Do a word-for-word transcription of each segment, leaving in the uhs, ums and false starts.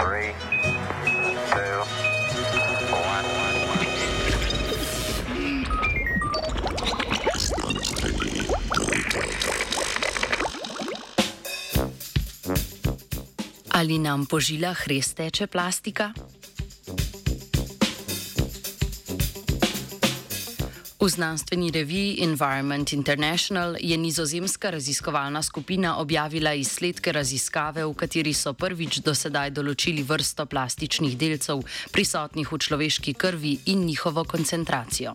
Three, two, one. Ali nam po žilah res teče plastika? V znanstveni reviji Environment International je nizozemska raziskovalna skupina objavila izsledke raziskave, v kateri so prvič do sedaj določili vrsto plastičnih delcev prisotnih v človeški krvi in njihovo koncentracijo.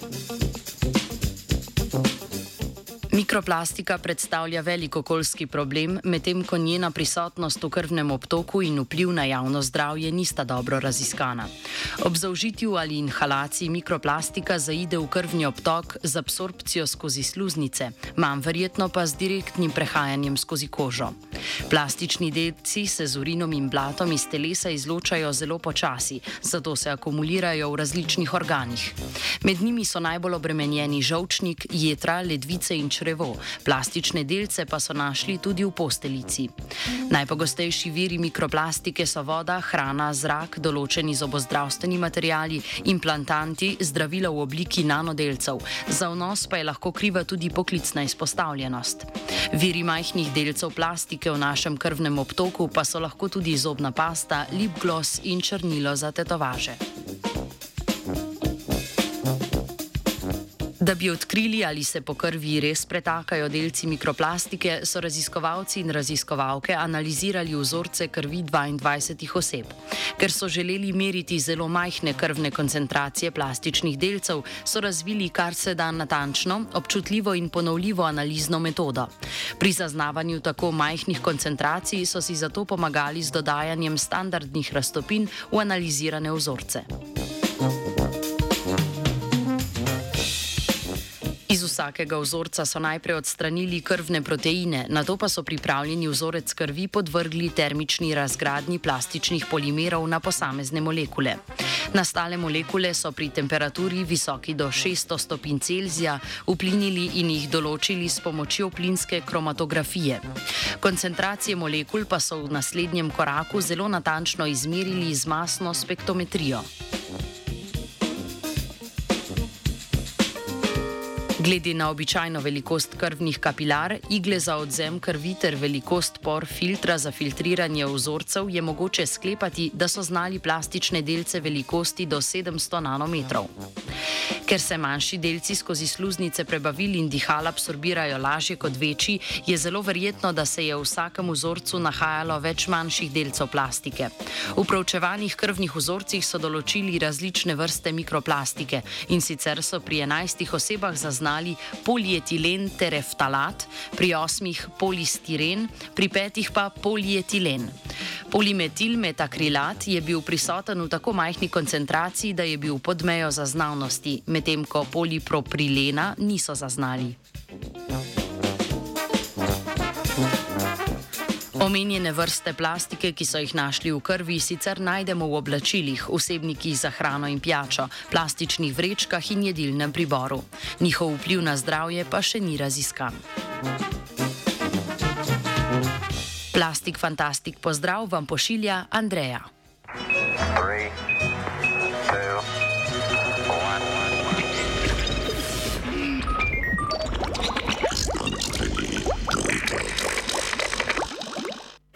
Mikroplastika predstavlja velik okoljski problem, medtem ko njena prisotnost v krvnem obtoku in vpliv na javno zdravje nista dobro raziskana. Ob zaužitju ali inhalaciji mikroplastika zaide v krvni obtok z absorpcijo skozi sluznice, manj verjetno pa z direktnim prehajanjem skozi kožo. Plastični delci se z urinom in blatom iz telesa izločajo zelo počasi, zato se akumulirajo v različnih organih. Med njimi so najbolj obremenjeni žolčnik, jetra, ledvice in črevo. Plastične delce pa so našli tudi v posteljici. Najpogostejši viri mikroplastike so voda, hrana, zrak, določeni zobozdravstveni materiali, implantanti, zdravila v obliki nanodelcev. Za vnos pa je lahko kriva tudi poklicna izpostavljenost. Viri majhnih delcev plastike v našem krvnem obtoku pa so lahko tudi zobna pasta, lip gloss in črnilo za tetovaže. Da bi odkrili, ali se po krvi res pretakajo delci mikroplastike, so raziskovalci in raziskovalke analizirali vzorce krvi dvaindvajsetih oseb. Ker so želeli meriti zelo majhne krvne koncentracije plastičnih delcev, so razvili kar se da natančno, občutljivo in ponovljivo analizno metodo. Pri zaznavanju tako majhnih koncentracij so si zato pomagali z dodajanjem standardnih raztopin v analizirane vzorce. Iz vsakega vzorca so najprej odstranili krvne proteine, nato pa so pripravljeni vzorec krvi podvrgli termični razgradnji plastičnih polimerov na posamezne molekule. Nastale molekule so pri temperaturi visoki do šeststo stopinj Celzija vplinili in jih določili s pomočjo plinske kromatografije. Koncentracije molekul pa so v naslednjem koraku zelo natančno izmerili z masno spektrometrijo. Glede na običajno velikost krvnih kapilar, igle za odvzem krvi ter velikost por filtra za filtriranje vzorcev je mogoče sklepati, da so znali plastične delce velikosti do sedemsto nanometrov. Ker se manjši delci skozi sluznice prebavil in dihal absorbirajo lažje kot večji, je zelo verjetno, da se je v vsakem vzorcu nahajalo več manjših delcev plastike. V proučevanih krvnih vzorcih so določili različne vrste mikroplastike in sicer so pri enajstih osebah zaznali polietilen tereftalat, pri osmih polistiren, pri petih pa polietilen. Polimetilmetakrilat je bil prisoten v tako majhni koncentraciji, da je bil pod mejo zaznavnosti, medtem ko poliproprilena niso zaznali. Omenjene vrste plastike, ki so jih našli v krvi, sicer najdemo v oblačilih, vsebnikih za hrano in pijačo, plastičnih vrečkah in jedilnem priboru. Njihov vpliv na zdravje pa še ni raziskan. Plastik Fantastik pozdrav vam pošilja Andreja. Three.